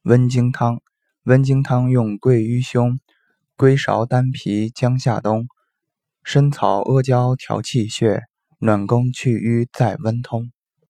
温经汤，温经汤用桂鱼胸、龟芍丹皮姜夏冬、参草阿胶调气血，暖宫去瘀在温通。